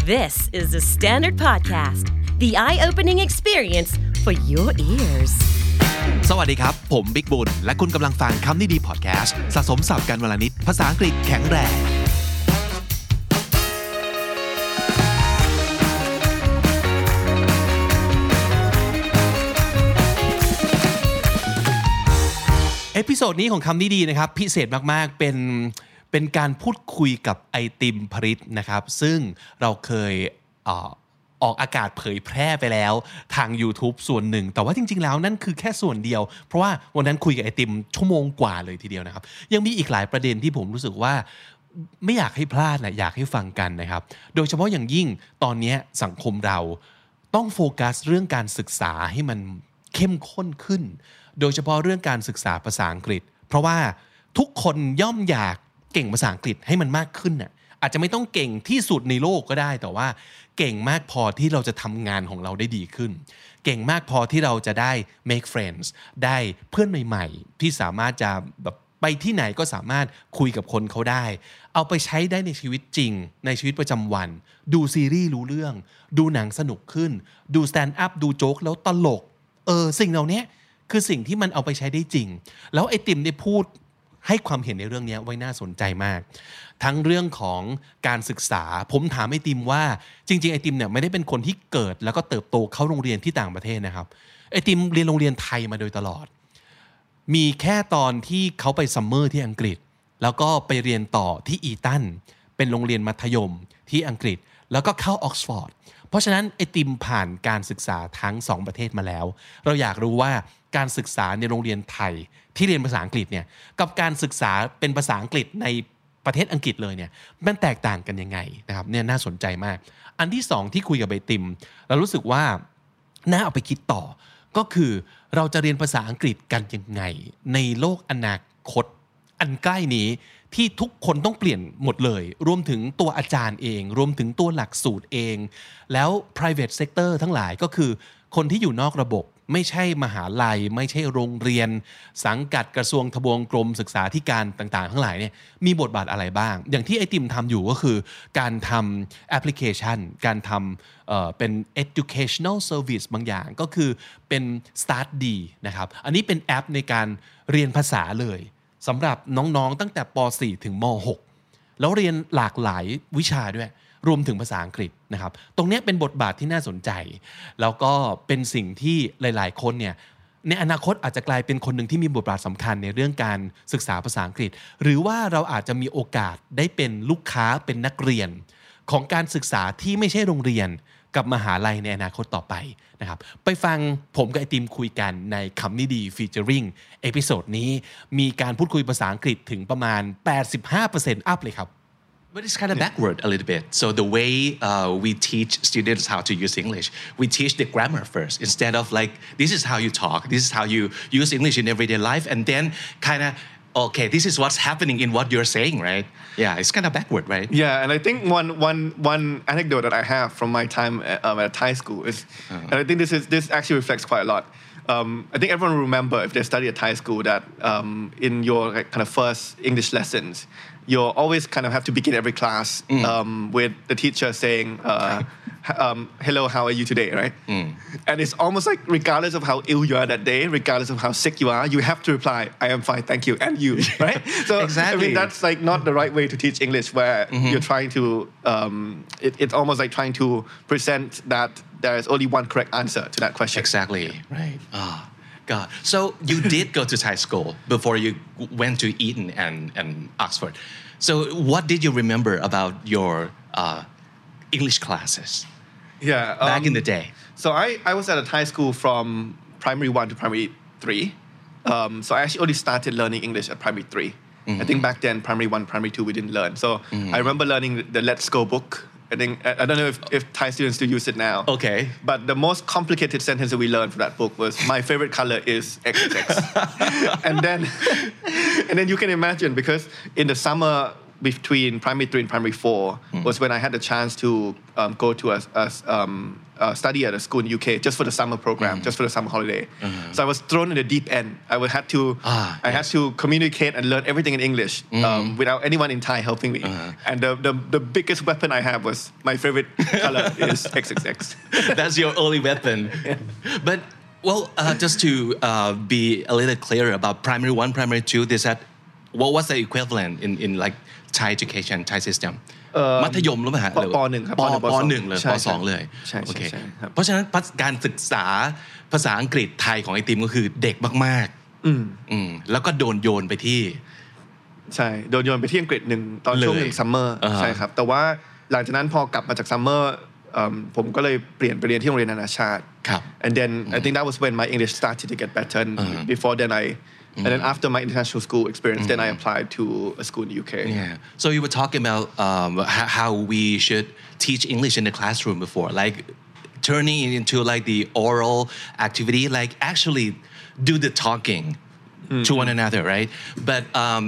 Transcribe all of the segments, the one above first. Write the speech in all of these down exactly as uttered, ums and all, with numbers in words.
This is the Standard Podcast, the eye-opening experience for your ears. สวัสดีครับผมบิ๊กบุญและคุณกำลังฟังคำนี้ดีพอดแคสต์สะสมศัพท์กันวันละนิดภาษาอังกฤษแข็งแรงเอพิโซดนี้ของคำนี้ดีนะครับพิเศษมากๆเป็นเป็นการพูดคุยกับไอติมพริตนะครับซึ่งเราเคยเอ่อออกอากาศเผยแพร่ไปแล้วทาง YouTube ส่วนหนึ่งแต่ว่าจริงๆแล้วนั่นคือแค่ส่วนเดียวเพราะว่าวันนั้นคุยกับไอติมชั่วโมงกว่าเลยทีเดียวนะครับยังมีอีกหลายประเด็นที่ผมรู้สึกว่าไม่อยากให้พลาดนะอยากให้ฟังกันนะครับโดยเฉพาะอย่างยิ่งตอนนี้สังคมเราต้องโฟกัสเรื่องการศึกษาให้มันเข้มข้นขึ้นโดยเฉพาะเรื่องการศึกษาภาษาอังกฤษเพราะว่าทุกคนย่อมอยากเก่งภาษาอังกฤษให้มันมากขึ้นน่ะอาจจะไม่ต้องเก่งที่สุดในโลกก็ได้แต่ว่าเก่งมากพอที่เราจะทำงานของเราได้ดีขึ้นเก่งมากพอที่เราจะได้ make friends ได้เพื่อนใหม่ๆที่สามารถจะแบบไปที่ไหนก็สามารถคุยกับคนเขาได้เอาไปใช้ได้ในชีวิตจริงในชีวิตประจำวันดูซีรีส์รู้เรื่องดูหนังสนุกขึ้นดู stand up ดูโจ๊กแล้วตลกเออสิ่งเหล่านี้คือสิ่งที่มันเอาไปใช้ได้จริงแล้วไอติมได้พูดให้ความเห็นในเรื่องนี้ไว้น่าสนใจมากทั้งเรื่องของการศึกษาผมถามไอติมว่าจริงๆไอติมเนี่ยไม่ได้เป็นคนที่เกิดแล้วก็เติบโตเข้าโรงเรียนที่ต่างประเทศนะครับไอติมเรียนโรงเรียนไทยมาโดยตลอดมีแค่ตอนที่เขาไปซัมเมอร์ที่อังกฤษแล้วก็ไปเรียนต่อที่อีตันเป็นโรงเรียนมัธยมที่อังกฤษแล้วก็เข้าออกซฟอร์ดเพราะฉะนั้นไอติมผ่านการศึกษาทั้งสองประเทศมาแล้วเราอยากรู้ว่าการศึกษาในโรงเรียนไทยที่เรียนภาษาอังกฤษเนี่ยกับการศึกษาเป็นภาษาอังกฤษในประเทศอังกฤษเลยเนี่ยมันแตกต่างกันยังไงนะครับเนี่ยน่าสนใจมากอันที่สองที่คุยกับไอติมเรารู้สึกว่าน่าเอาไปคิดต่อก็คือเราจะเรียนภาษาอังกฤษกันยังไงในโลกอนาคตอันใกล้นี้ที่ทุกคนต้องเปลี่ยนหมดเลยรวมถึงตัวอาจารย์เองรวมถึงตัวหลักสูตรเองแล้ว private sector ทั้งหลายก็คือคนที่อยู่นอกระบบไม่ใช่มหาลัยไม่ใช่โรงเรียนสังกัดกระทรวงทบวงกรมศึกษาธิการต่างๆทั้งหลายเนี่ยมีบทบาทอะไรบ้างอย่างที่ไอติมทำอยู่ก็คือการทำแอปพลิเคชันการทำเอ่อเป็น educational service บางอย่างก็คือเป็น Start ดีนะครับอันนี้เป็นแอปในการเรียนภาษาเลยสำหรับน้องๆตั้งแต่ป สี่ ถึงม หก แล้วเรียนหลากหลายวิชาด้วยรวมถึงภาษาอังกฤษนะครับตรงนี้เป็นบทบาทที่น่าสนใจแล้วก็เป็นสิ่งที่หลายๆคนเนี่ยในอนาคตอาจจะกลายเป็นคนหนึ่งที่มีบทบาทสำคัญในเรื่องการศึกษาภาษาอังกฤษหรือว่าเราอาจจะมีโอกาสได้เป็นลูกค้าเป็นนักเรียนของการศึกษาที่ไม่ใช่โรงเรียนกับมหาลัยในอนาคตต่อไปนะครับไปฟังผมกับไอติมคุยกันในคำนี้ดีฟีเจอริงเอพิโซดนี้มีการพูดคุยภาษาอังกฤษถึงประมาณ แปดสิบห้าเปอร์เซ็นต์ อัพเลยครับ But it's kind of backward a little bit. So the way uh, we teach students how to use English, we teach the grammar first instead of like, this is how you talk, this is how you use English in everyday life, and then kind of, okay, this is what's happening in what you're saying, right? Yeah, it's kind of backward, right? Yeah, and I think one one one anecdote that I have from my time at, um, at Thai school is, uh-huh. and I think this is this actually reflects quite a lot. Um, I think everyone will remember if they study at Thai school that um, in your like, kind of first English lessons, you'll always kind of have to begin every class mm. um, with the teacher saying, uh, um, hello, how are you today, right? Mm. And it's almost like regardless of how ill you are that day, regardless of how sick you are, you have to reply, I am fine, thank you, and you, right? So exactly. I mean, that's like not the right way to teach English where mm-hmm. you're trying to, um, it, it's almost like trying to present that there is only one correct answer to that question. Exactly, right. Oh, God. So you did go to Thai school before you went to Eton and, and Oxford. So what did you remember about your uh, English classes yeah, um, back in the day? So I, I was at a Thai school from primary one to primary three. Um, so I actually only started learning English at primary three. Mm-hmm. I think back then, primary one, primary two, we didn't learn. So mm-hmm. I remember learning the Let's Go book. I think I don't know if, if Thai students still use it now. Okay. But the most complicated sentence that we learned from that book was, my favorite color is X X X. and then and then you can imagine, because in the summer between primary three and primary four mm. was when I had the chance to um, go to a, a um, uh, study at a school in the U K just for the summer program, mm. just for the summer holiday. Mm-hmm. So I was thrown in the deep end. I would had to, ah, I yes. had to communicate and learn everything in English mm. um, without anyone in Thai helping me. Uh-huh. And the, the the biggest weapon I have was my favorite color is triple X. That's your only weapon. Yeah. But well, uh, just to uh, be a little clearer about primary one, primary two, is that what was the equivalent in in like Thai education, Thai system?มัธยมหรือเปล่าฮะป.หนึ่งครับป.หนึ่งเลยป.สองเลยโอเคเพราะฉะนั้นการศึกษาภาษาอังกฤษไทยของไอติมก็คือเด็กมากๆอืมอืมแล้วก็โดนโยนไปที่ใช่โดนโยนไปที่อังกฤษหนึ่งตอนช่วงหนึ่งซัมเมอร์ใช่ครับแต่ว่าหลังจากนั้นพอกลับมาจากซัมเมอร์ผมก็เลยเปลี่ยนไปเรียนที่โรงเรียนนานาชาติ and then I think that was when my English started to get better and before then I And then after my international school experience, mm-hmm. then I applied to a school in the U K. Yeah. So you were talking about um, how we should teach English in the classroom before, like turning it into like the oral activity, like actually do the talking mm-hmm. to one another, right? But um,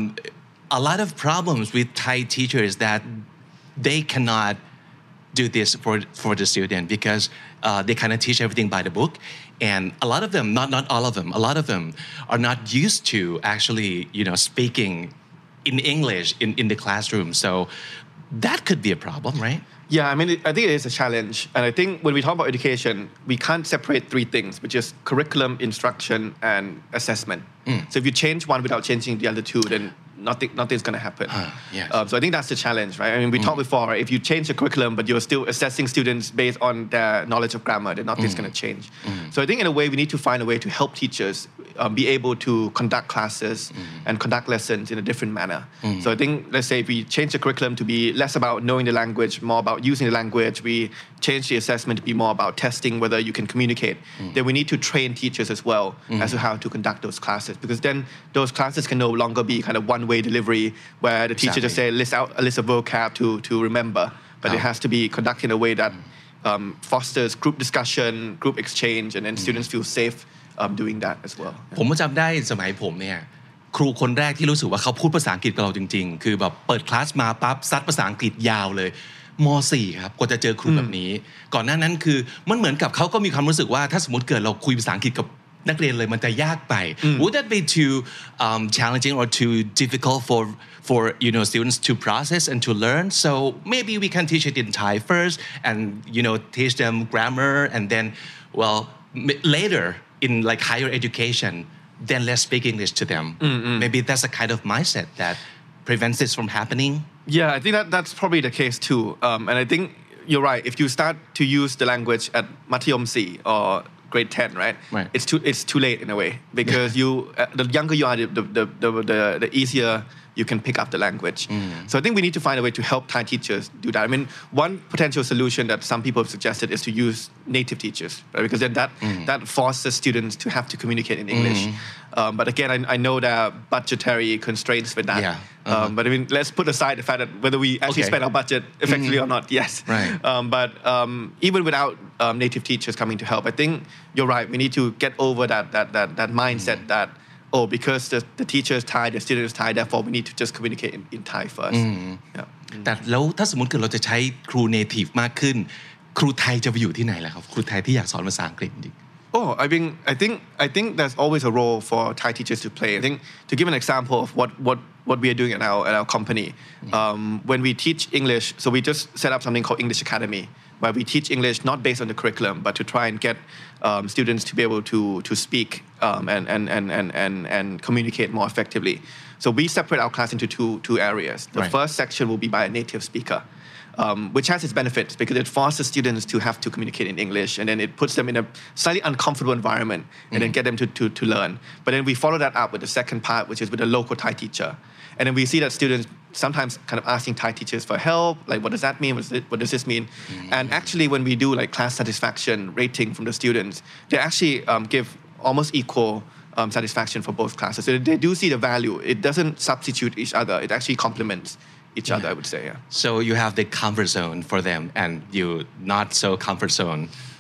a lot of problems with Thai teachers that they cannot do this for for the student because uh, they kind of teach everything by the book. And a lot of them, not not all of them, a lot of them are not used to actually, you know, speaking in English in, in the classroom. So that could be a problem, right? Yeah, I mean, I think it is a challenge. And I think when we talk about education, we can't separate three things, which is curriculum, instruction, and assessment. Mm. So if you change one without changing the other two, then nothing, nothing's going to happen. Uh, yes. um, so I think that's the challenge, right? I mean, we mm. talked before, right? If you change the curriculum, but you're still assessing students based on their knowledge of grammar, then nothing's mm. going to change. Mm. So I think in a way, we need to find a way to help teachers um, be able to conduct classes mm. and conduct lessons in a different manner. Mm. So I think, let's say if we change the curriculum to be less about knowing the language, more about using the language, we change the assessment to be more about testing whether you can communicate, mm. then we need to train teachers as well mm. as to how to conduct those classes. Because then those classes can no longer be kind of one-way delivery where the teacher exactly. just say list out a list of vocab to to remember, but oh. it has to be conducted in a way that um, fosters group discussion, group exchange, and then mm. students feel safe um, doing that as well. ผมก็จำได้สมัยผมเนี่ยครูคนแรกที่รู้สึกว่าเขาพูดภาษาอังกฤษกับเราจริงๆคือแบบเปิดคลาสมาปั๊บซัดภาษาอังกฤษยาวเลยม.สี่ ครับกว่าจะเจอครูแบบนี้ก่อนหน้านั้นคือมันเหมือนกับเขาก็มีความรู้สึกว่าถ้าสมมติเกิดเราคุยภาษาอังกฤษกับนักเรียนเลยมันจะยากไป Would that be too um, challenging or too difficult for for you know students to process and to learn? So maybe we can teach it in Thai first, and you know teach them grammar, and then well later in like higher education, then let's speak English to them. Mm-hmm. Maybe that's a kind of mindset that prevents this from happening. Yeah, I think that that's probably the case too, um, and I think you're right. If you start to use the language at มัธยมสี่ or grade ten, right? Right. It's too it's too late in a way because you uh, the younger you are, the the the the, the easier you can pick up the language. Mm. So I think we need to find a way to help Thai teachers do that. I mean, one potential solution that some people have suggested is to use native teachers, right? Because then that mm. that forces students to have to communicate in English. Mm. Um, but again, I, I know there are budgetary constraints with that. Yeah. Uh-huh. Um, but I mean, let's put aside the fact that whether we actually okay. spend our budget effectively mm. or not. Yes. Right. Um, but um, even without um, native teachers coming to help, I think you're right. We need to get over that that that that mindset mm. that oh, because the the teacher is Thai, the student is Thai, therefore we need to just communicate in, in Thai first. Mm. Yeah. แต่แล้วถ้าสมมติเกิดเราจะใช้ครู native มากขึ้นครูไทยจะไปอยู่ที่ไหนล่ะครับครูไทยที่อยากสอนภาษาอังกฤษจริง Oh, I mean, I think I think there's always a role for Thai teachers to play. I think to give an example of what what what we are doing at our at our company, um, when we teach English, so we just set up something called English Academy, where we teach English not based on the curriculum, but to try and get um, students to be able to to speak um, and, and and and and and communicate more effectively. So we separate our class into two two areas. The right. first section will be by a native speaker. Um, which has its benefits because it forces students to have to communicate in English, and then it puts them in a slightly uncomfortable environment, and mm-hmm. then get them to, to, to learn. But then we follow that up with the second part, which is with a local Thai teacher. And then we see that students sometimes kind of asking Thai teachers for help, like what does that mean, what does, it, what does this mean? Mm-hmm. And actually when we do like class satisfaction rating from the students, they actually um, give almost equal um, satisfaction for both classes. So they do see the value. It doesn't substitute each other. It actually complements each other, yeah. I would say, yeah. So you have the comfort zone for them and you not so comfort zone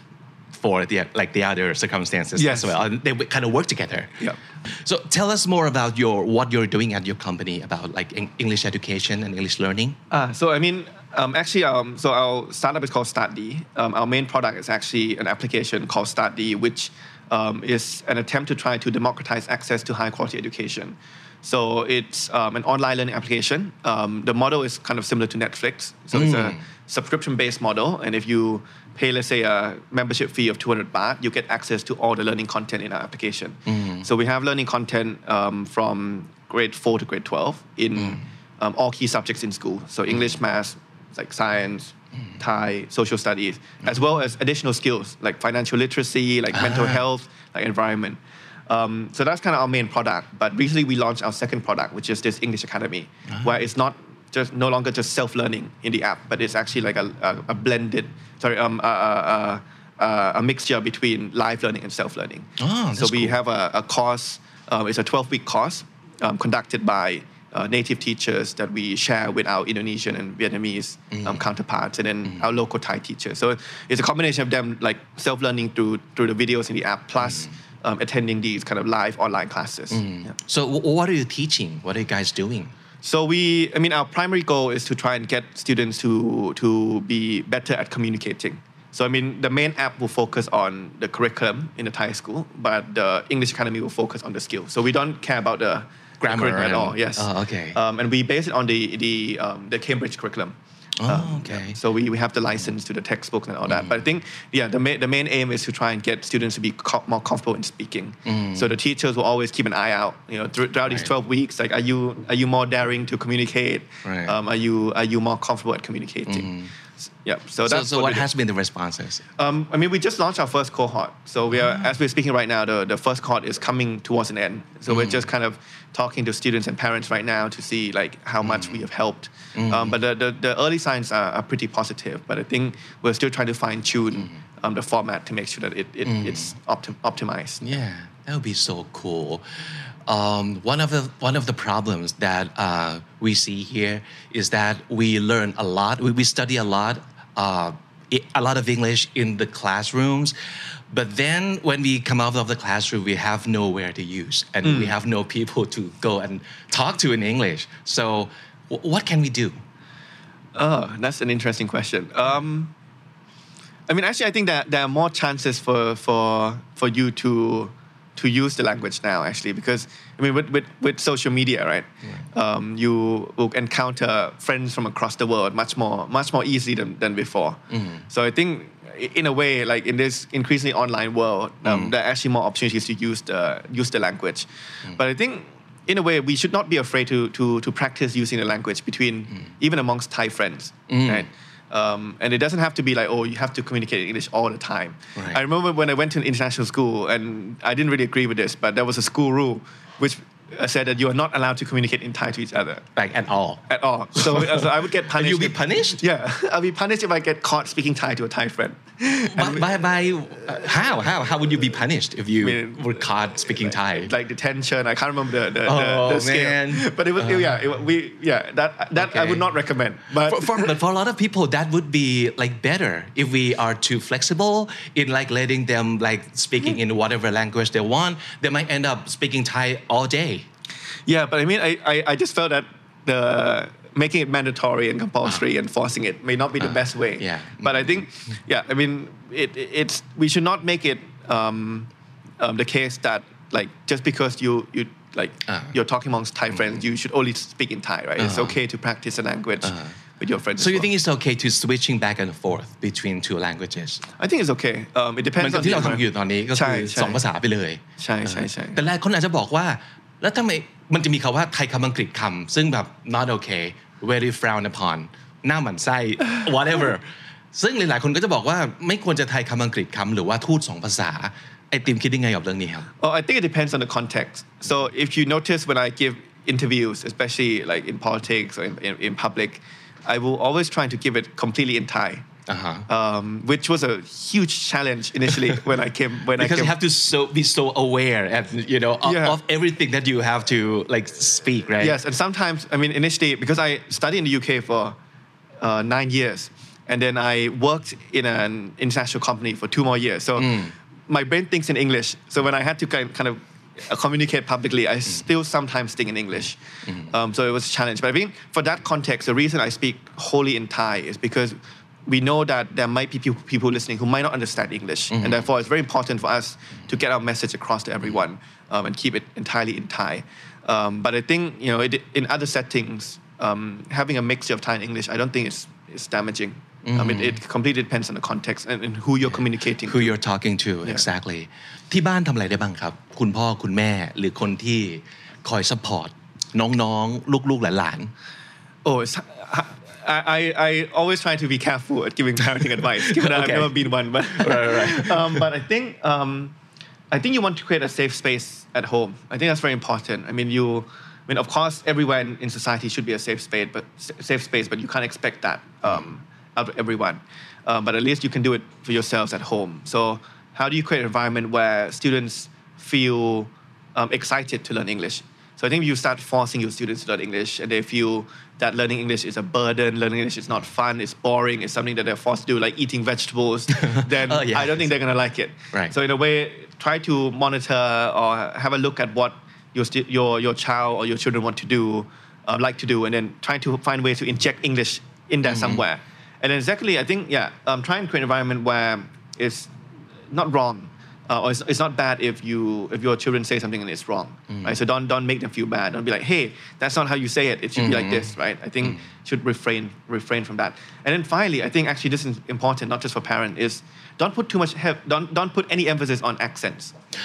for the like the other circumstances Yes. as well. And they kind of work together. Yeah. So tell us more about your what you're doing at your company about like English education and English learning. Uh, so I mean, um, actually, um, so our startup is called StartD. Um, our main product is actually an application called StartD, which um, is an attempt to try to democratize access to high quality education. So it's um, an online learning application. Um, the model is kind of similar to Netflix. So it's a subscription-based model, and if you pay, let's say, a membership fee of two hundred baht, you get access to all the learning content in our application. So we have learning content um, from grade four to grade twelve in um, all key subjects in school. So English, math, like science, Thai, social studies, as well as additional skills like financial literacy, like mental health, like environment. Um, so that's kind of our main product. But recently we launched our second product, which is this English Academy, where it's not just no longer just self-learning in the app, but it's actually like a, a, a blended, sorry, um, a, a, a, a mixture between live learning and self-learning. Oh, that's so we cool. have a, a course, um, it's a twelve-week course um, conducted by uh, native teachers that we share with our Indonesian and Vietnamese um, counterparts, and then our local Thai teachers. So it's a combination of them like self-learning through through the videos in the app, plus um, attending these kind of live online classes. Yeah. So w- what are you teaching? What are you guys doing? So we, I mean, our primary goal is to try and get students to to be better at communicating. So I mean, the main app will focus on the curriculum in the Thai school, but the English Academy will focus on the skills. So we don't care about the Grammar the curriculum at and- all. Yes. Oh, okay. Um, and we base it on the the um, the Cambridge curriculum. Oh, Um, okay. So we, we have the license to the textbooks and all that. But I think, yeah, the main, the main aim is to try and get students to be co- more comfortable in speaking. So the teachers will always keep an eye out, you know, through- throughout these Right. twelve weeks. Like, are you are you more daring to communicate? Right. Um, are you are you more comfortable at communicating? S- Yeah. So So, that's so what, what we do. has been the responses? Um, I mean, we just launched our first cohort. So we are, as we're speaking right now, the, the first cohort is coming towards an end. So we're just kind of talking to students and parents right now to see like how much we have helped. Um, but the, the, the early signs are, are pretty positive. But I think we're still trying to fine tune um, the format to make sure that it, it it's optim- optimized. Yeah, that would be so cool. Um, one of the one of the problems that uh, we see here is that we learn a lot. We, we study a lot, uh, i- a lot of English in the classrooms, but then when we come out of the classroom, we have nowhere to use, and we have no people to go and talk to in English. So, w- what can we do? Oh, that's an interesting question. Um, I mean, actually, I think that there are more chances for for for you to to use the language now, actually, because I mean, with with, with social media, right? Um, you will encounter friends from across the world much more much more easily than, than before. So I think, i- in a way, like in this increasingly online world, um, there are actually more opportunities to use the use the language. But I think, in a way, we should not be afraid to to to practice using the language between even amongst Thai friends, right? Um, and it doesn't have to be like, oh, you have to communicate in English all the time. Right. I remember when I went to an international school, and I didn't really agree with this, but there was a school rule which uh, said that you are not allowed to communicate in Thai to each other Like at all? at all. So, uh, so I would get punished. you'll be if- punished? Yeah, I'll be punished if I get caught speaking Thai to a Thai friend. By, by, by uh, how how how would you be punished if you I mean, were caught speaking Thai? Like detention, I can't remember the the, Oh, the, the scale. man. But it was yeah, it, wa- we yeah that that I Okay. would not recommend. But for, for, but for a lot of people, that would be like better if we are too flexible in like letting them like speaking in whatever language they want. They might end up speaking Thai all day. Yeah, but I mean, I, I, I just felt that the making it mandatory and compulsory and forcing it may not be the best way. yeah. But I think, yeah, I mean, it, it's we should not make it um, um, the case that like just because you you like Uh. you're talking amongst Thai friends, you should only speak in Thai, right? It's Uh-huh. okay to practice a language with your friends. So as you well. think it's okay to switching back and forth between two languages? I think it's okay. Um, it เหมื depends อนกับ on ที่ the เราทำอยู่ตอนนี้ก็ใช่คือใช่สองภาษาไปเลยใช่ใช่ใช่แต่หลายคนอาจจะบอกว่า แล้วทำไมมันจะมีคำว่าไทยคำอังกฤษคำซึ่งแบบ not okay very frowned upon หน้าหมันไส้ whatever ซึ่งหลายๆคนก็จะบอกว่าไม่ควรจะไทยคำอังกฤษคำหรือว่าทูตสองภาษาไอติมคิดยังไงกับเรื่องนี้ครับ Oh, I think it depends on the context. So if you notice when I give interviews, especially like in politics or in, in, in public, I will always try to give it completely in Thai, Uh-huh. um, which was a huge challenge initially when I came. When because I came. you have to so be so aware and you know of, Yeah. of everything that you have to like speak, right? Yes, and sometimes I mean initially because I studied in the U K for uh, nine years, and then I worked in an international company for two more years. So my brain thinks in English. So when I had to kind kind of communicate publicly, I still sometimes think in English. Um, so it was a challenge. But I think for that context, the reason I speak wholly in Thai is because we know that there might be people, people listening who might not understand English. Mm-hmm. And therefore, it's very important for us to get our message across to everyone um, and keep it entirely in Thai. Um, but I think, you know, it, in other settings, um, having a mixture of Thai and English, I don't think it's, it's damaging. Mm-hmm. Um, it, it completely depends on the context and, and who you're communicating who you're talking to yeah. exactly ที่บ้านทำอะไรได้บ้างครับคุณพ่อคุณแม่หรือคนที่คอยซัพพอร์ตน้องๆลูกๆหลานๆ Oh, it's, I, I, I always try to be careful at giving parenting advice, given that okay. I've never been one. But, right, right. um, but I think um, I think you want to create a safe space at home. I think that's very important. I mean, you, I mean, of course, everywhere in, in society should be a safe space, but safe space, but you can't expect that um, out of everyone. Um, but at least you can do it for yourselves at home. So, how do you create an environment where students feel um, excited to learn English? So I think if you start forcing your students to learn English and they feel that learning English is a burden, learning English is not fun, it's boring, it's something that they're forced to do, like eating vegetables, then oh, yes. I don't think they're going to like it. Right. So in a way, try to monitor or have a look at what your your your child or your children want to do, uh, like to do, and then try to find ways to inject English in there mm-hmm. somewhere. And then secondly, I think, yeah, um, try and create an environment where it's not wrong. Uh, or it's, it's not bad if you if your children say something and it's wrong, mm. right? So don't don't make them feel bad. Don't be like, hey, that's not how you say it. It should mm-hmm. be like this, right? I think mm. should refrain refrain from that. And then finally, I think actually this is important, not just for parents, is don't put too much he- don't don't put any emphasis on accents.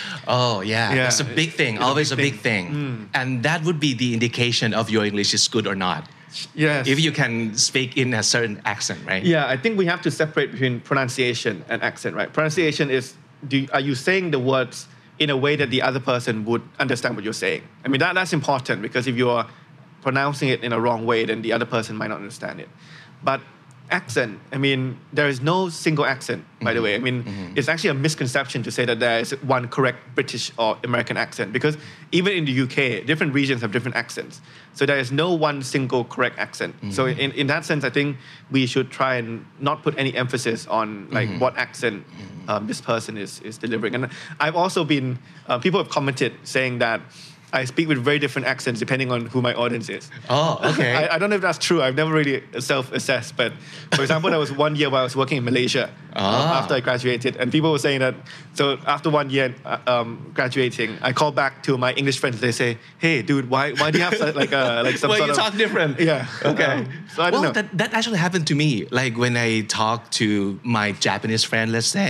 Oh yeah, yeah. That's a big thing. It's Always a big a big thing, thing. Mm. and that would be the indication of your English is good or not. Yes. If you can speak in a certain accent, right? Yeah, I think we have to separate between pronunciation and accent, right? Pronunciation is Do, are you saying the words in a way that the other person would understand what you're saying? I mean, that, that's important because if you're pronouncing it in a wrong way, then the other person might not understand it. But accent, I mean, there is no single accent, by mm-hmm. the way. I mean, mm-hmm. it's actually a misconception to say that there is one correct British or American accent because even in the U K, different regions have different accents. So there is no one single correct accent. Mm-hmm. So in, in that sense, I think we should try and not put any emphasis on like mm-hmm. what accent um, this person is, is delivering. And I've also been, uh, people have commented saying that I speak with very different accents depending on who my audience is. Oh, okay. I, I don't know if that's true. I've never really self-assessed. But for example, there was one year where I was working in Malaysia ah. um, after I graduated. And people were saying that, so after one year um, graduating, I call back to my English friends. They say, hey, dude, why why do you have like a, like some well, sort you of... talk different. Yeah. Okay. Um, so I don't well, know. That, that actually happened to me. Like when I talk to my Japanese friend, let's say,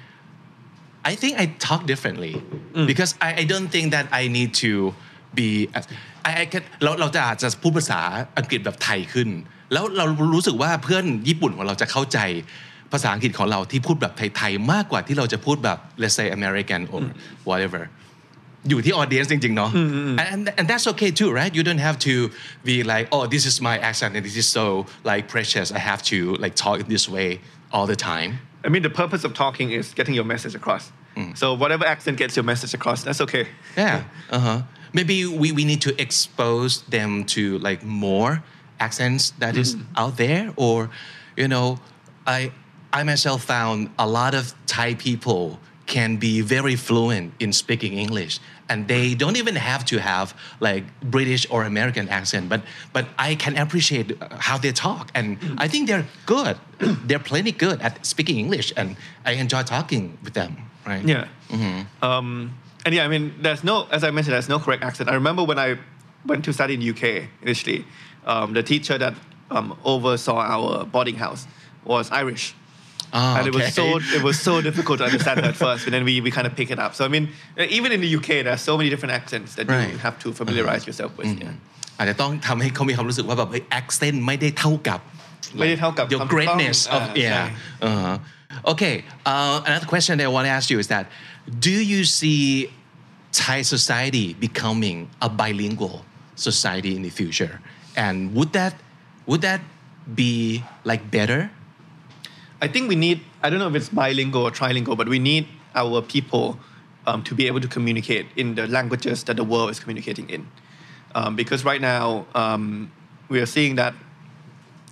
I think I talk differently mm. because I, I don't think that I need to be I, I can เราเราจะอาจจะพูดภาษาอังกฤษแบบไทยขึ้นแล้วเรารู้สึกว่าเพื่อนญี่ปุ่นของเราจะเข้าใจภาษาอังกฤษของเราที่พูดแบบไทยๆมากกว่าที่เราจะพูดแบบ let's say American or whatever อยู่ที่ audience จริงๆเนาะ and and that's okay too right you don't have to be like oh this is my accent and this is so like precious I have to like talk in this way all the time I mean the purpose of talking is getting your message across mm. so whatever accent gets your message across that's okay yeah uh-huh maybe we, we need to expose them to like more accents that is mm. out there or you know I I myself found a lot of Thai people can be very fluent in speaking English and they don't even have to have like British or American accent but but I can appreciate how they talk and I think they're good they're plenty good at speaking English and I enjoy talking with them right yeah mm-hmm. um, and yeah I mean there's no as I mentioned there's no correct accent I remember when I went to study in the U K initially um, the teacher that um, oversaw our boarding house was Irish Oh, and okay. it was so it was so difficult to understand her at first, but then we, we kind of pick it up. So I mean, even in the U K, there are so many different accents that right. you have to familiarize uh-huh. yourself with. Mm-hmm. Yeah. อาจจะต้องทำให้เขามีความรู้สึกว่าแบบ accent ไม่ได้เท่ากับไม่ได้เท่ากับ your greatness of yeah. Uh-huh. Okay. Uh, another question that I want to ask you is that do you see Thai society becoming a bilingual society in the future, and would that would that be like better? I think we need, I don't know if it's bilingual or trilingual, but we need our people um, to be able to communicate in the languages that the world is communicating in. Um, because right now, um, we are seeing that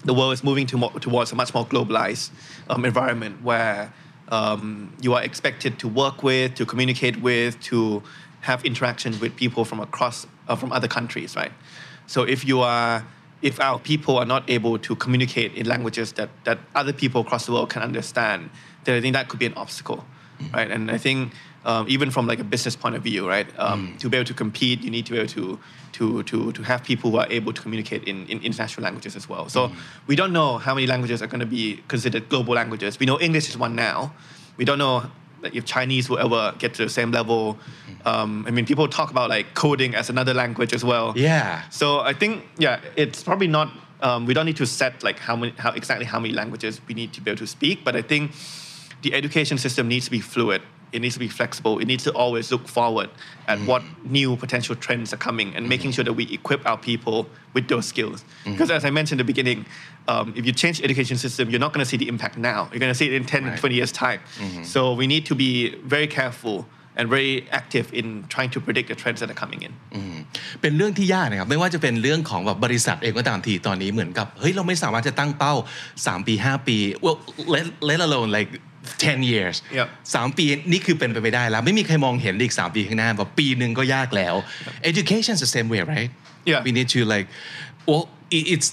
the world is moving to more, towards a much more globalized um, environment where um, you are expected to work with, to communicate with, to have interaction with people from across, uh, from other countries, right? So if you are, if our people are not able to communicate in languages that, that other people across the world can understand, then I think that could be an obstacle, mm-hmm. right? And I think um, even from like a business point of view, right? Um, mm. To be able to compete, you need to be able to to to to have people who are able to communicate in, in international languages as well. So mm. we don't know how many languages are going to be considered global languages. We know English is one now. We don't know like if Chinese will ever get to the same level. Um, I mean, people talk about like coding as another language as well. Yeah. So I think yeah, it's probably not. Um, we don't need to set like how many, how exactly how many languages we need to be able to speak. But I think the education system needs to be fluid. It needs to be flexible. It needs to always look forward at mm. what new potential trends are coming and mm. making sure that we equip our people with those skills. Mm. Because as I mentioned in the beginning, um, if you change the education system, you're not going to see the impact now. You're going to see it in ten, right. twenty years' time. Mm-hmm. So we need to be very careful and very active in trying to predict the trends that are coming in. เป็นเรื่องที่ยากนะครับไม่ว่าจะเป็นเรื่องของแบบบริษัทเองก็ตามทีตอนนี้เหมือนกับเฮ้ยเราไม่สามารถจะตั้งเป้าสามปีห้าปี well let let alone like ten years สามปีนี่คือเป็นไปไม่ได้แล้วไม่มีใครมองเห็นอีกสามปีข้างหน้าแบบปีนึงก็ยากแล้ว education is the same way right yeah we need to like well it's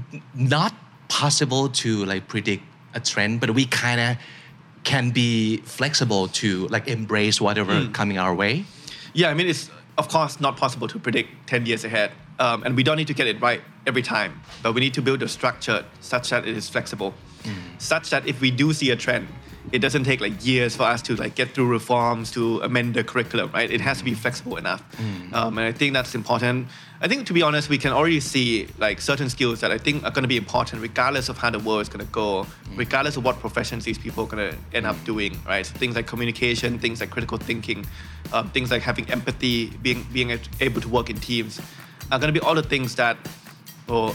not possible to like predict a trend but we kind of can be flexible to like embrace whatever mm. coming our way yeah I mean it's of course not possible to predict ten years ahead um, and we don't need to get it right every time but we need to build a structure such that it is flexible mm. such that if we do see a trend it doesn't take like years for us to like get through reforms to amend the curriculum right it has to be flexible enough mm. um, and I think that's important I think to be honest we can already see like certain skills that I think are going to be important regardless of how the world is going to go mm. regardless of what professions these people are going to end up doing right so things like communication things like critical thinking um, things like having empathy being being able to work in teams are going to be all the things that well,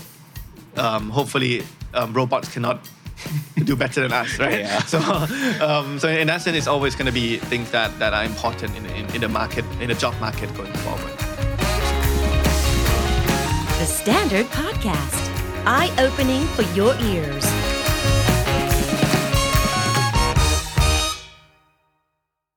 um, hopefully um, robots cannot do better than us, right? Yeah. So, um, so in that sense, it's always going to be things that, that are important in, in, in the market, in the job market going forward. The Standard Podcast, eye-opening for your ears.